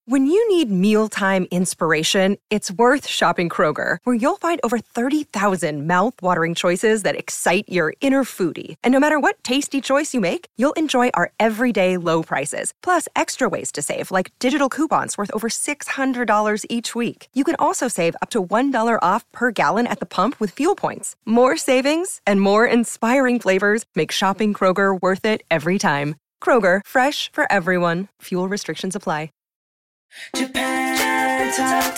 When you need mealtime inspiration, it's worth shopping Kroger, where you'll find over 30,000 mouth-watering choices that excite your inner foodie. And no matter what tasty choice you make, you'll enjoy our everyday low prices, plus extra ways to save, like digital coupons worth over $600 each week. You can also save up to $1 off per gallon at the pump with fuel points. More savings and more inspiring flavors make shopping Kroger worth it every time. Kroger, fresh for everyone. Fuel restrictions apply. Japan Top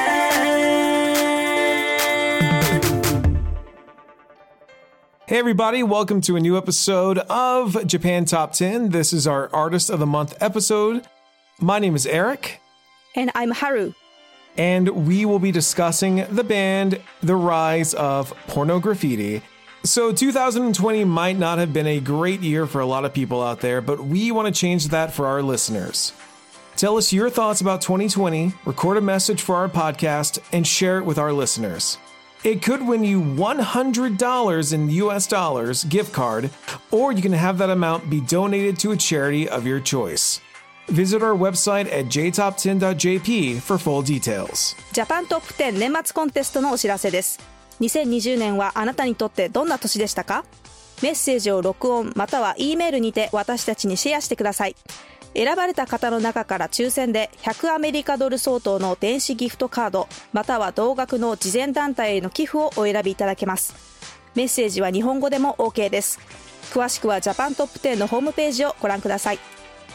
10. Hey everybody, welcome to a new episode of Japan Top 10. This is our Artist of the Month episode. My name is Eric. And I'm Haru. And we will be discussing the band The Rise of Pornograffitti. So 2020 might not have been a great year for a lot of people out there, but we want to change that for our listeners. Tell us your thoughts about 2020, record a message for our podcast, and share it with our listeners. It could win you $100 in US dollars gift card, or you can have that amount be donated to a charity of your choice. Visit our website at jtop10.jp for full details. ジャパントップ10年末コンテストのお知らせです。2020年はあなたにとってどんな年でしたか？メッセージを録音または E メールにて私たちにシェアしてください。選ばれた方の中から抽選で100アメリカドル相当の電子ギフトカードまたは同額の慈善団体への寄付をお選びいただけます。メッセージは日本語でも OK です。詳しくはジャパントップ10のホームページをご覧ください。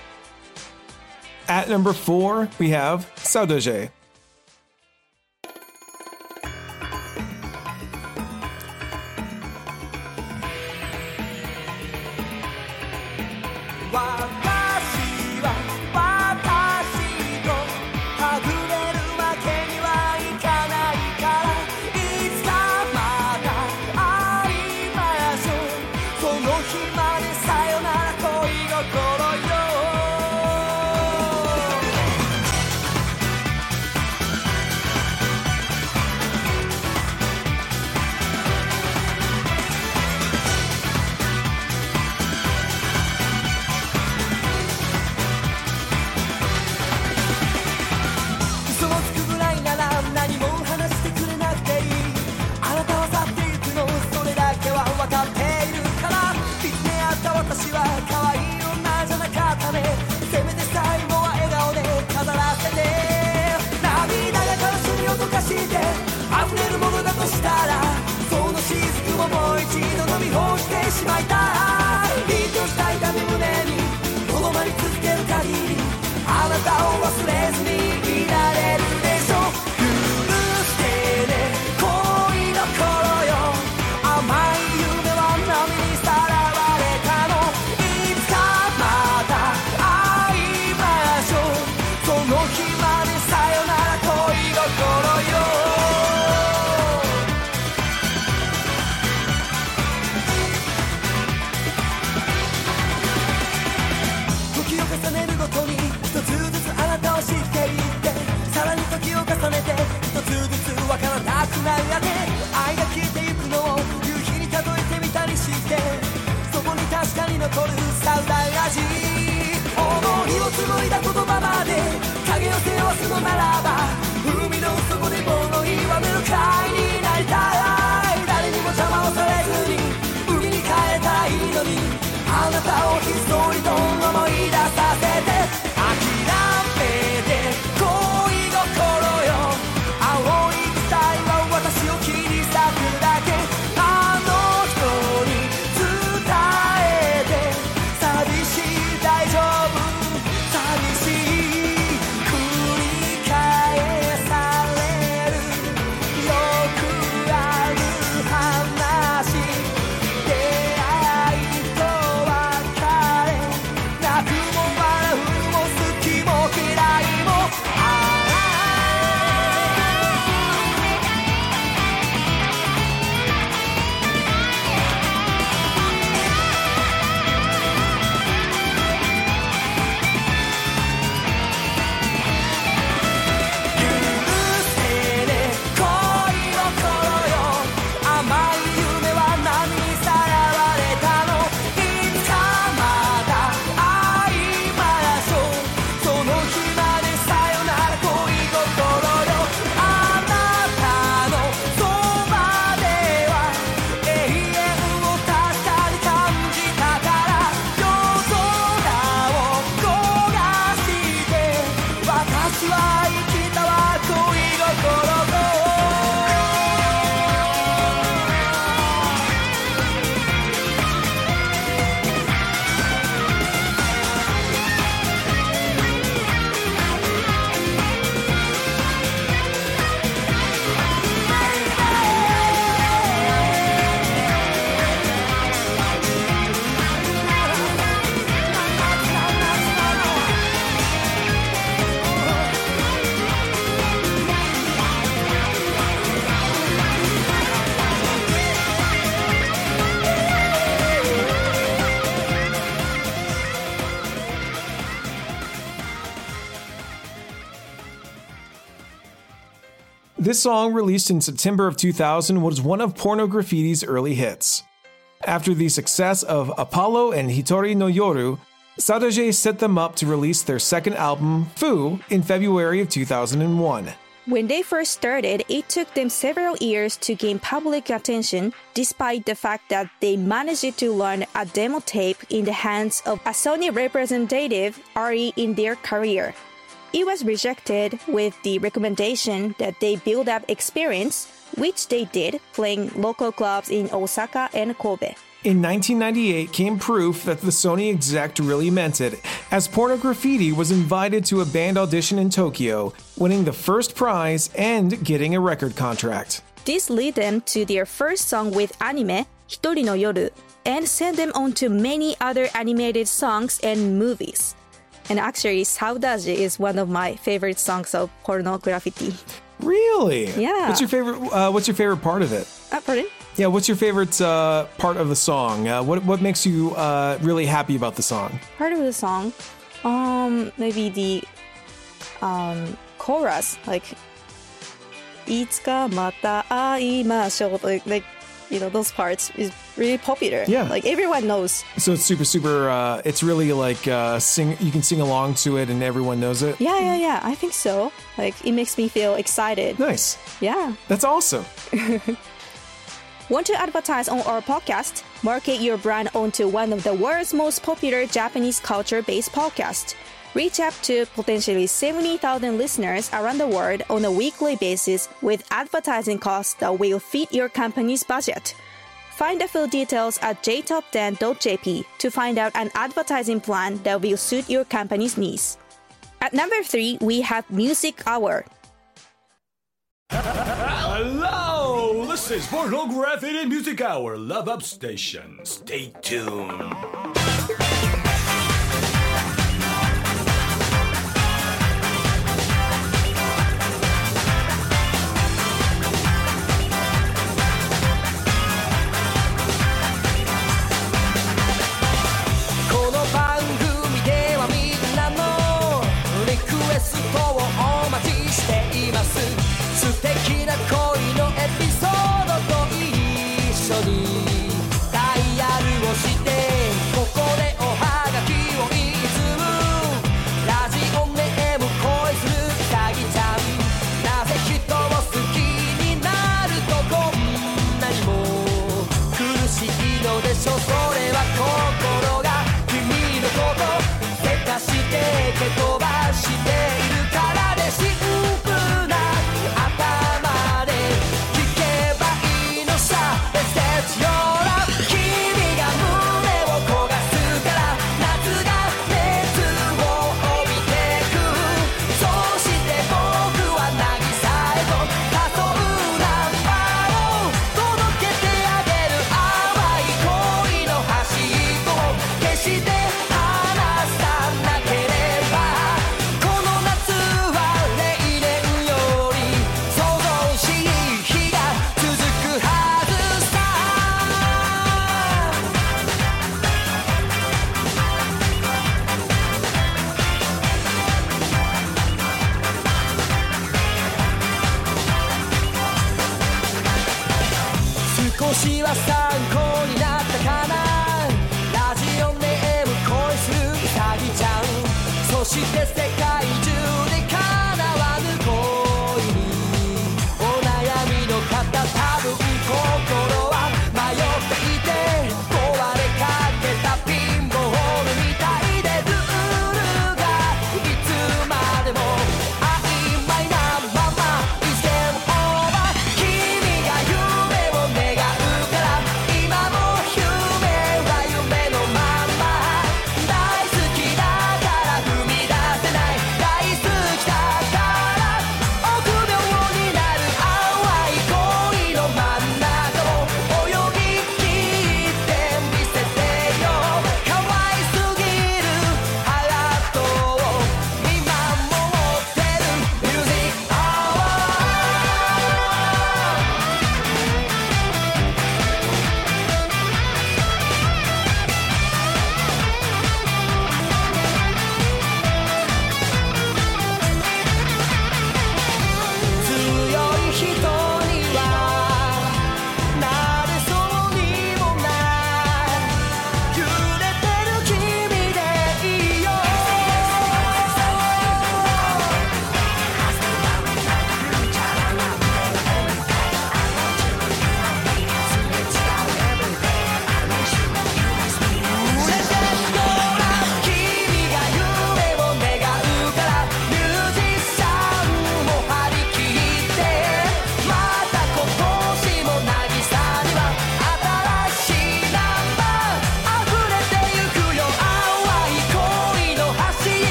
At number 4, we have Saudade. This song, released in September of 2000, was one of Porno Graffiti's early hits. After the success of Apollo and Hitori no Yoru, Sadaje set them up to release their second album, Fu, in February of 2001. When they first started, it took them several years to gain public attention, despite the fact that they managed to learn a demo tape in the hands of a Sony representative early in their career. It was rejected with the recommendation that they build up experience, which they did, playing local clubs in Osaka and Kobe. In 1998 came proof that the Sony exec really meant it, as Porno Graffiti was invited to a band audition in Tokyo, winning the first prize and getting a record contract. This led them to their first song with anime, Hitori no Yoru, and sent them on to many other animated songs and movies. And actually, Saudade is one of my favorite songs of Porno Graffiti. Really? Yeah. What's your favorite part of it? Pardon? Yeah, what's your favorite part of the song? What makes you really happy about the song? Part of the song, maybe the chorus, like いつかまた会いましょう, like those parts is really popular. Yeah. Like everyone knows. So it's super, it's really like you can sing along to it and everyone knows it? Yeah, I think so. Like it makes me feel excited. Nice. Yeah. That's awesome. Want to advertise on our podcast? Market your brand onto one of the world's most popular Japanese culture-based podcasts. Reach out to potentially 70,000 listeners around the world on a weekly basis with advertising costs that will fit your company's budget. Find the full details at jtop10.jp to find out an advertising plan that will suit your company's needs. At number 3, we have Music Hour. Hello! This is Porno Graffiti Music Hour Love Up Station. Stay tuned. この番組ではみんなのリクエストをお待ちしています。素敵な恋のエピソードと一緒にダイヤルをしてここでおはがきをいつもラジオネーム恋するうさぎちゃん。なぜ人を好きになるとこんなにも苦しいのでしょう。それは心が君のことせかして蹴飛ばしているからでシンプルな頭で聞けばいいのさ。 Set your love 君が胸を焦がすから夏が熱を帯びてく。そうして僕は渚へと誘うナンバーを届けてあげる。淡い恋の端っこを決して離さなければこの夏は例年より想像しい日が続くはずさ。少しは参考になったかな。ラジオネーム恋するうさぎちゃん。そして世界中で叶わぬ恋にお悩みの方、多分心は迷っていて壊れかけたピンボールみたいでルールがいつまでも曖昧なまま It's game over 君が夢を願うから今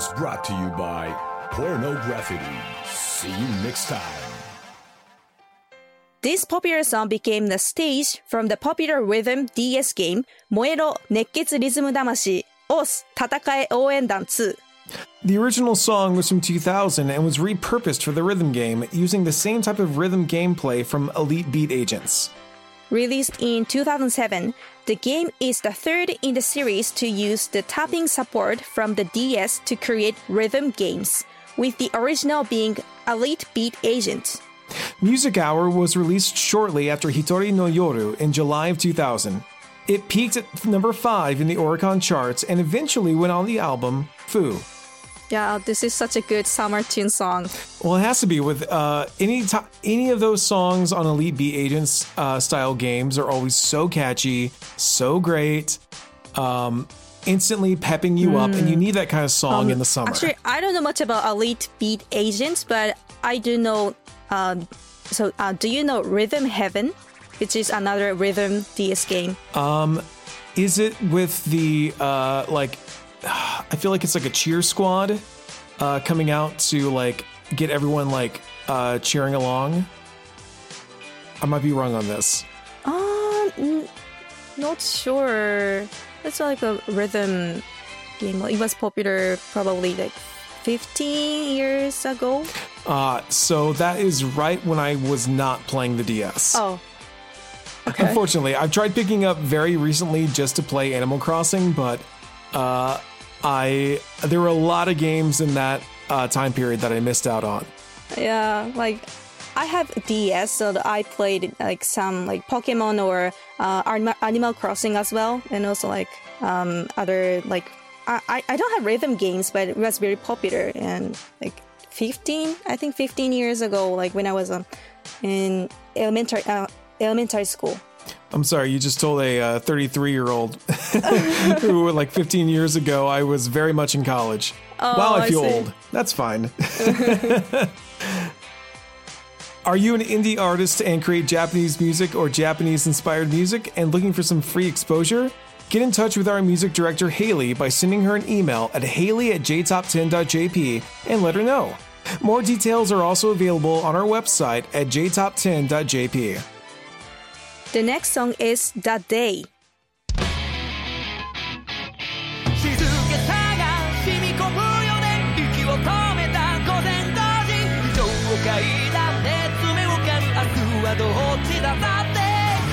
was brought to you by Pornography. See you next time. This popular song became the stage from the popular rhythm DS game 燃えろ熱血リズム魂 OS 戦え応援団2. The original song was from 2000 and was repurposed for the rhythm game using the same type of rhythm gameplay from Elite Beat Agents. Released in 2007, the game is the third in the series to use the tapping support from the DS to create rhythm games, with the original being Elite Beat Agent. Music Hour was released shortly after Hitori no Yoru in July of 2000. It peaked at number 5 in the Oricon charts and eventually went on the album Fu. Yeah, this is such a good summer tune song. Well, it has to be with any of those songs on Elite Beat Agents style games are always so catchy, so great, instantly pepping you up, and you need that kind of song in the summer. Actually, I don't know much about Elite Beat Agents, but I do know. Do you know Rhythm Heaven, which is another rhythm DS game? Is it with the I feel like it's like a cheer squad coming out to like get everyone like cheering along? I might be wrong on this. Not sure. It's like a rhythm game. It was popular probably like 15 years ago. So that is right when I was not playing the DS. Oh. Okay. Unfortunately, I've tried picking up very recently just to play Animal Crossing, but there were a lot of games in that time period that I missed out on. Yeah, like I have DS, so I played like some like Pokemon or Animal Crossing as well, and also like other like I don't have rhythm games, but it was very popular. And like 15 years ago, like when I was in elementary school. I'm sorry, you just told a 33-year-old who, like 15 years ago, I was very much in college. Oh, wow, I feel see. old. That's fine. Are you an indie artist and create Japanese music or Japanese-inspired music and looking for some free exposure? Get in touch with our music director, Haley, by sending her an email at haley@jtop10.jp and let her know. More details are also available on our website at jtop10.jp. The next song is The Day. 静けさが染み込むよね息を止めた午前5時非常階段で詰めをかる明日はどっちだだって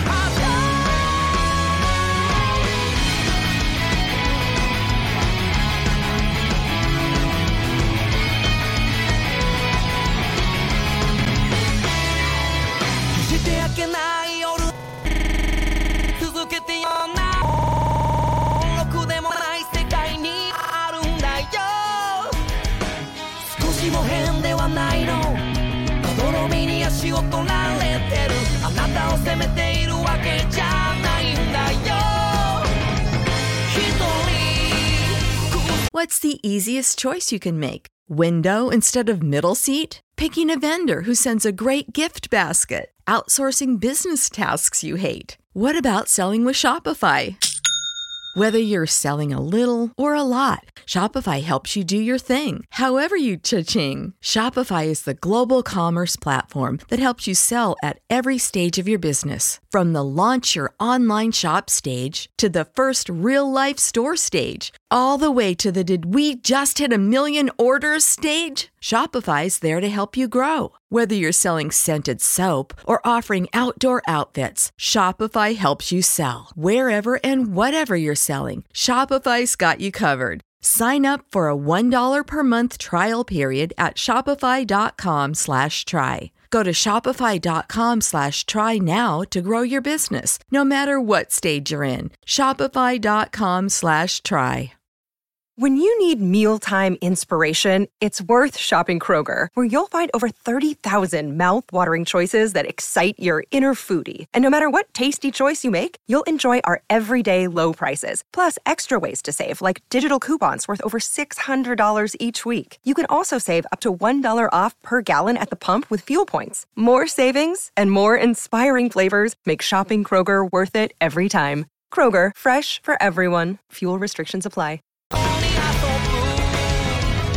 決して明けない夜続けてよなろくでもない世界にあるんだよ少しも変ではないのまどろみに足を取られてるあなたを責めているわけじゃないんだよ一人 What's the easiest choice you can make? Window instead of middle seat? Picking a vendor who sends a great gift basket? Outsourcing business tasks you hate? What about selling with Shopify? Whether you're selling a little or a lot, Shopify helps you do your thing, however you cha-ching. Shopify is the global commerce platform that helps you sell at every stage of your business. From the launch your online shop stage to the first real-life store stage, all the way to the did we just hit 1 million orders stage? Shopify's there to help you grow. Whether you're selling scented soap or offering outdoor outfits, Shopify helps you sell. Wherever and whatever you're selling, Shopify's got you covered. Sign up for a $1 per month trial period at shopify.com/try. Go to shopify.com/try now to grow your business, no matter what stage you're in. Shopify.com/try. When you need mealtime inspiration, it's worth shopping Kroger, where you'll find over 30,000 mouth-watering choices that excite your inner foodie. And no matter what tasty choice you make, you'll enjoy our everyday low prices, plus extra ways to save, like digital coupons worth over $600 each week. You can also save up to $1 off per gallon at the pump with fuel points. More savings and more inspiring flavors make shopping Kroger worth it every time. Kroger, fresh for everyone. Fuel restrictions apply.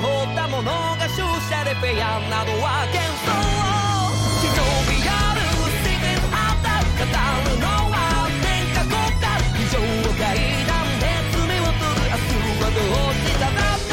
ったものが注射でフェアなどは幻想機能美あるシークレットアウター語るのは天下国家非常階段で罪を取る明日はどうしただって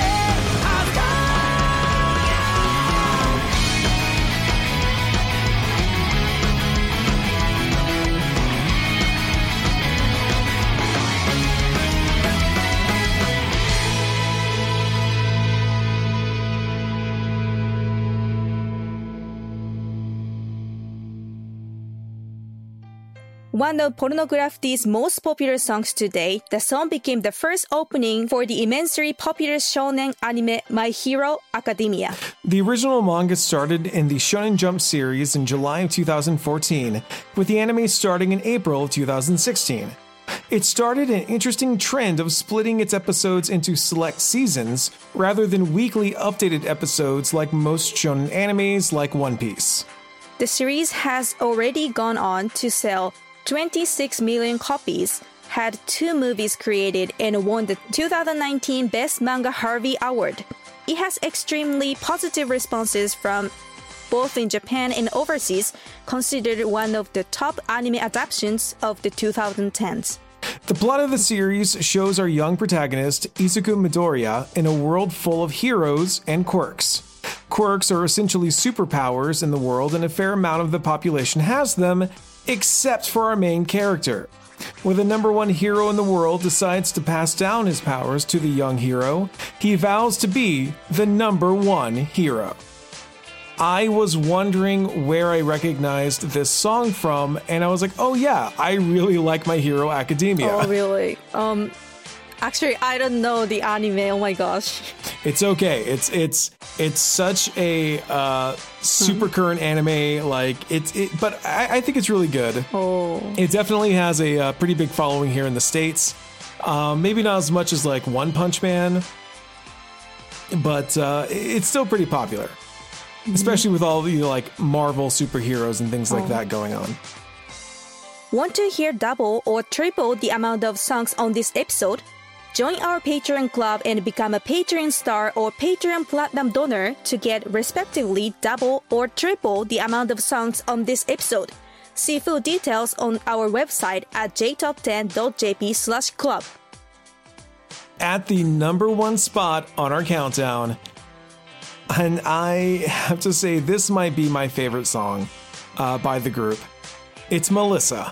One of Pornography's most popular songs today, the song became the first opening for the immensely popular shonen anime My Hero Academia. The original manga started in the Shonen Jump series in July of 2014, with the anime starting in April of 2016. It started an interesting trend of splitting its episodes into select seasons, rather than weekly updated episodes like most shonen animes like One Piece. The series has already gone on to sell 26 million copies, had 2 movies created, and won the 2019 Best Manga Harvey Award. It has extremely positive responses from both in Japan and overseas, considered one of the top anime adaptations of the 2010s. The plot of the series shows our young protagonist, Izuku Midoriya, in a world full of heroes and quirks. Quirks are essentially superpowers in the world, and a fair amount of the population has them, except for our main character. When the number one hero in the world decides to pass down his powers to the young hero, he vows to be the number one hero. I was wondering where I recognized this song from, and I was like, oh yeah, I really like My Hero Academia. Oh, really? Actually, I don't know the anime. Oh my gosh. It's okay. It's such a super current anime. Like but I think it's really good. Oh. It definitely has a pretty big following here in the States. Maybe not as much as like One Punch Man, but it's still pretty popular, especially with all the like Marvel superheroes and things like that going on. Want to hear double or triple the amount of songs on this episode? Join our Patreon club and become a Patreon star or Patreon platinum donor to get respectively double or triple the amount of songs on this episode. See full details on our website at jtop10.jp/club. At the number one spot on our countdown, and I have to say this might be my favorite song by the group. It's Melissa.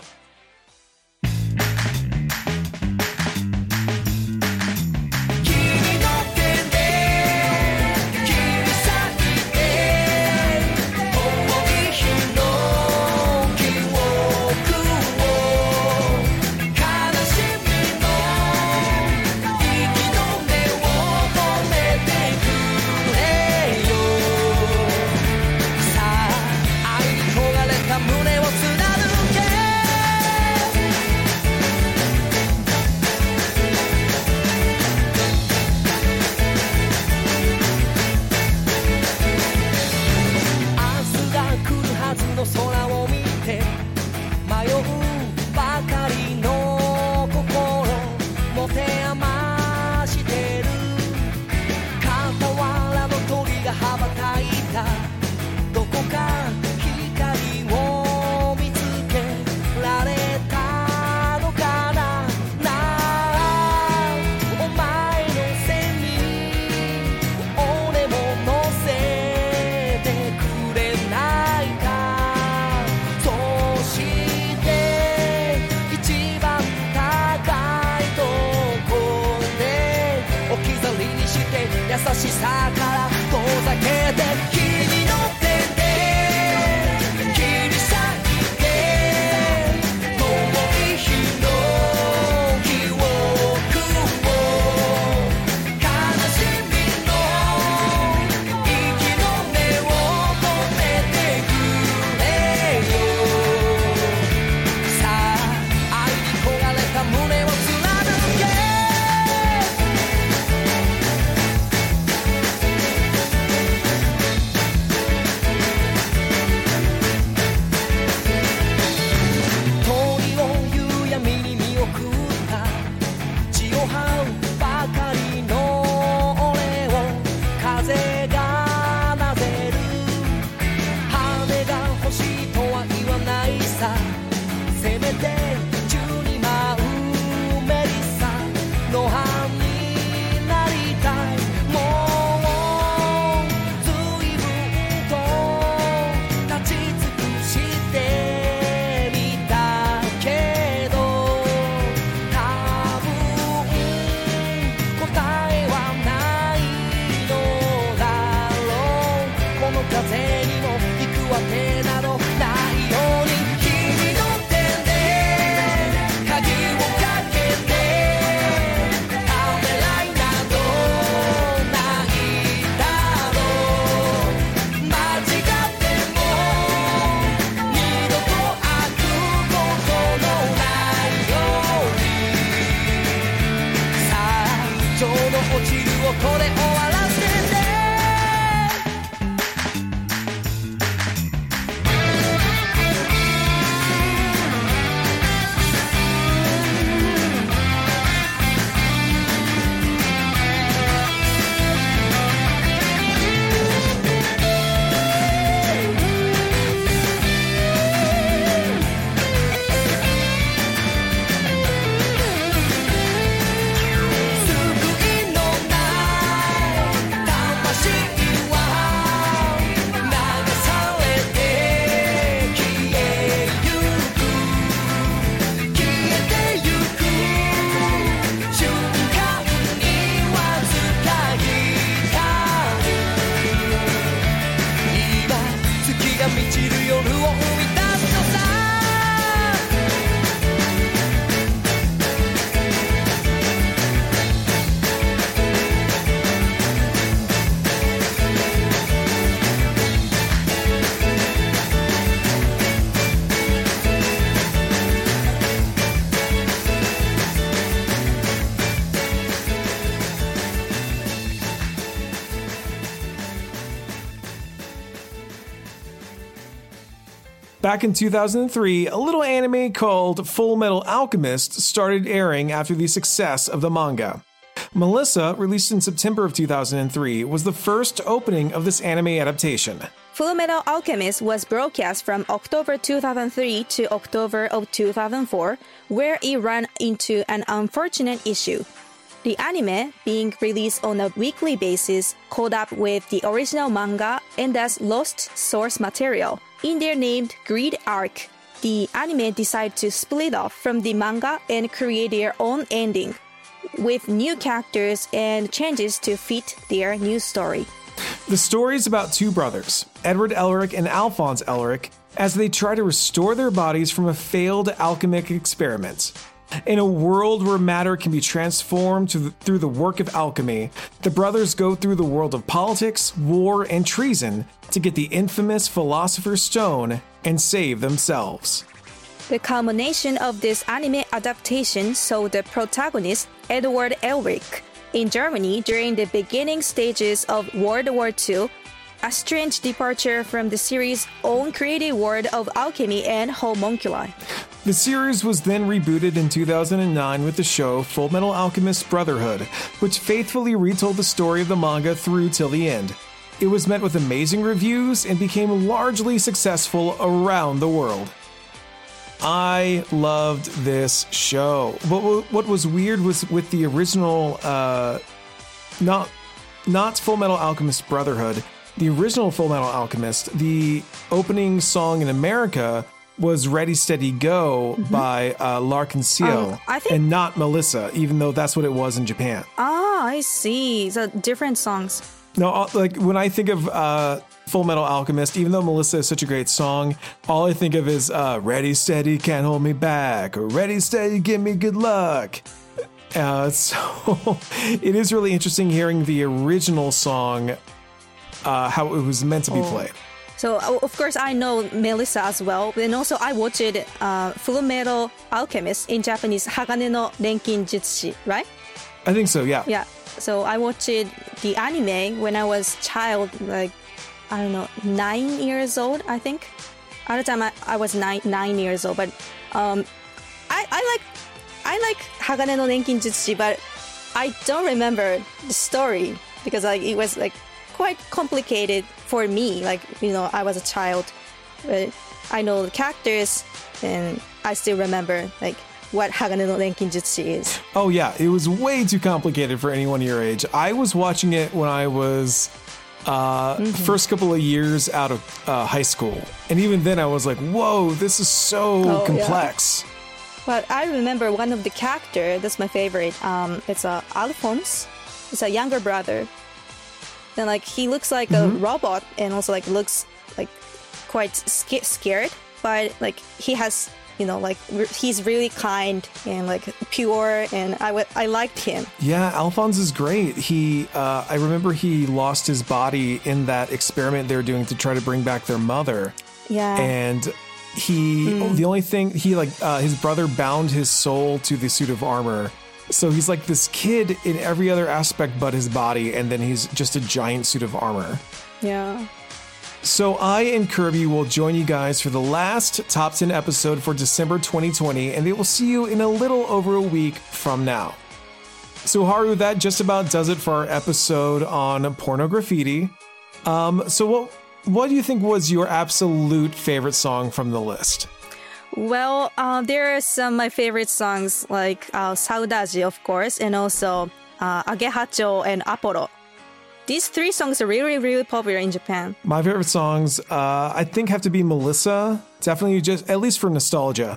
風がなぜる羽が欲しいとは言わないさせめて12万メリッサの半になりたいもう随分と立ち尽くしてみたけど多分答えはないのだろうこの風にも行くわけなどないように君の手で鍵をかけてためらいなどないだろう間違っても二度と開くことのないようにさあちょうど落ちるをこれ終わらせて満ちる夜を生み出すのさ Back in 2003, a little anime called Full Metal Alchemist started airing after the success of the manga. Melissa, released in September of 2003, was the first opening of this anime adaptation. Full Metal Alchemist was broadcast from October 2003 to October of 2004, where it ran into an unfortunate issue. The anime, being released on a weekly basis, caught up with the original manga and thus lost source material. In their named Greed arc, the anime decided to split off from the manga and create their own ending, with new characters and changes to fit their new story. The story is about two brothers, Edward Elric and Alphonse Elric, as they try to restore their bodies from a failed alchemic experiment. In a world where matter can be transformed through the work of alchemy, the brothers go through the world of politics, war, and treason to get the infamous Philosopher's Stone and save themselves. The culmination of this anime adaptation saw the protagonist, Edward Elric, in Germany during the beginning stages of World War II, a strange departure from the series' own creative world of alchemy and homunculi. The series was then rebooted in 2009 with the show Full Metal Alchemist Brotherhood, which faithfully retold the story of the manga through till the end. It was met with amazing reviews and became largely successful around the world. I loved this show. What was weird was with the original, not Full Metal Alchemist Brotherhood, the original Full Metal Alchemist, the opening song in America was Ready, Steady, Go by L'Arc-en-Ciel, and not Melissa, even though that's what it was in Japan. Ah, I see. So different songs. No, like when I think of Full Metal Alchemist, even though Melissa is such a great song, all I think of is Ready, Steady, Can't Hold Me Back, or Ready, Steady, Give Me Good Luck. So it is really interesting hearing the original song, how it was meant to be played. So, of course, I know Melissa as well. And also, I watched Full Metal Alchemist in Japanese, Hagane no Renkin Jutsushi, right? I think so, yeah. Yeah. So, I watched the anime when I was child, like, I don't know, 9 years old, I think. At the time, I was 9 years old. But I like Hagane no Renkin Jutsushi, but I don't remember the story because it was like quite complicated for me. Like, I was a child, but I know the characters and I still remember like what Hagane no Renkinjutsu is. Oh yeah, it was way too complicated for anyone your age. I was watching it when I was first couple of years out of high school. And even then I was like, whoa, this is so complex. Yeah. But I remember one of the characters, that's my favorite. It's Alphonse. It's a younger brother. And like he looks like a robot and also like looks like quite scared. But like he has, he's really kind and like pure, and I liked him. Yeah, Alphonse is great. I remember he lost his body in that experiment they were doing to try to bring back their mother. Yeah. And the only thing, his brother bound his soul to the suit of armor. So he's like this kid in every other aspect but his body, and then he's just a giant suit of armor. Yeah. So I and Kirby will join you guys for the last Top 10 episode for December 2020, and they will see you in a little over a week from now. So Haru, that just about does it for our episode on Porno Graffiti. So what do you think was your absolute favorite song from the list? Well, there are some of my favorite songs like Saudade, of course, and also Agehacho and Apollo. These three songs are really, really popular in Japan. My favorite songs, I think, have to be Melissa. Definitely, just at least for nostalgia.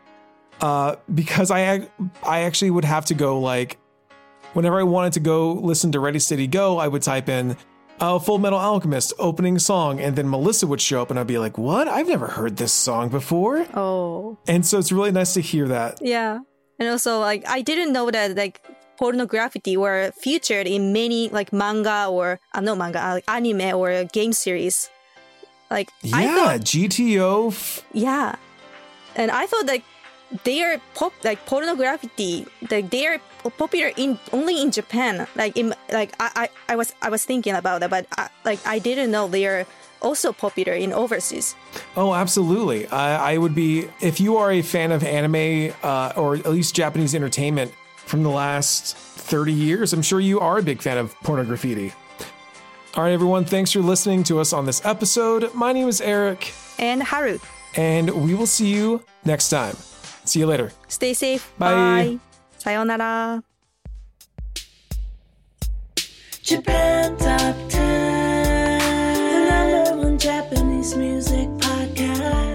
Because I actually would have to go like, whenever I wanted to go listen to Ready Steady Go, I would type in Full Metal Alchemist opening song, and then Melissa would show up, and I'd be like, "What? I've never heard this song before." Oh. And so it's really nice to hear that. Yeah, and also like I didn't know that like Porno Graffiti were featured in many like manga or like anime or game series. Like GTO. Yeah, and I thought like they are Porno Graffiti, like they are popular only in Japan. I was thinking about that, but I didn't know they are also popular in overseas. Oh, absolutely. I would be, if you are a fan of anime or at least Japanese entertainment from the last 30 years, I'm sure you are a big fan of Porno Graffiti. All right, everyone, thanks for listening to us on this episode. My name is Eric. And Haru. And we will see you next time. See you later. Stay safe. Bye. Bye. Sayonara. Japan Top 10, the #1 Japanese music podcast.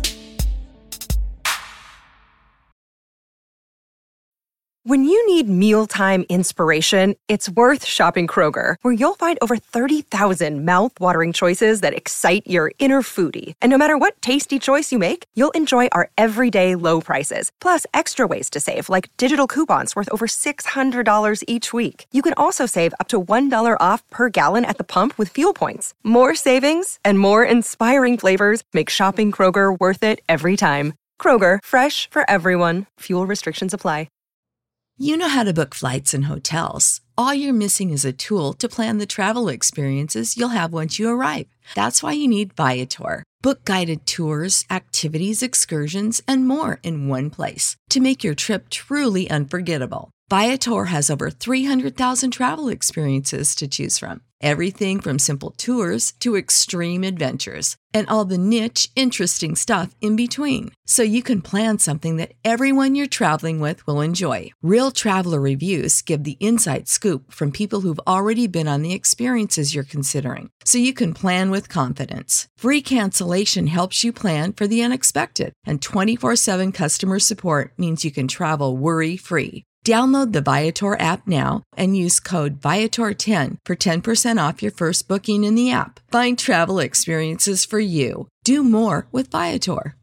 When you need mealtime inspiration, it's worth shopping Kroger, where you'll find over 30,000 mouth-watering choices that excite your inner foodie. And no matter what tasty choice you make, you'll enjoy our everyday low prices, plus extra ways to save, like digital coupons worth over $600 each week. You can also save up to $1 off per gallon at the pump with fuel points. More savings and more inspiring flavors make shopping Kroger worth it every time. Kroger, fresh for everyone. Fuel restrictions apply. You know how to book flights and hotels. All you're missing is a tool to plan the travel experiences you'll have once you arrive. That's why you need Viator. Book guided tours, activities, excursions, and more in one place to make your trip truly unforgettable. Viator has over 300,000 travel experiences to choose from. Everything from simple tours to extreme adventures and all the niche, interesting stuff in between. So you can plan something that everyone you're traveling with will enjoy. Real traveler reviews give the inside scoop from people who've already been on the experiences you're considering. So you can plan with confidence. Free cancellation helps you plan for the unexpected. And 24/7 customer support means you can travel worry-free. Download the Viator app now and use code Viator10 for 10% off your first booking in the app. Find travel experiences for you. Do more with Viator.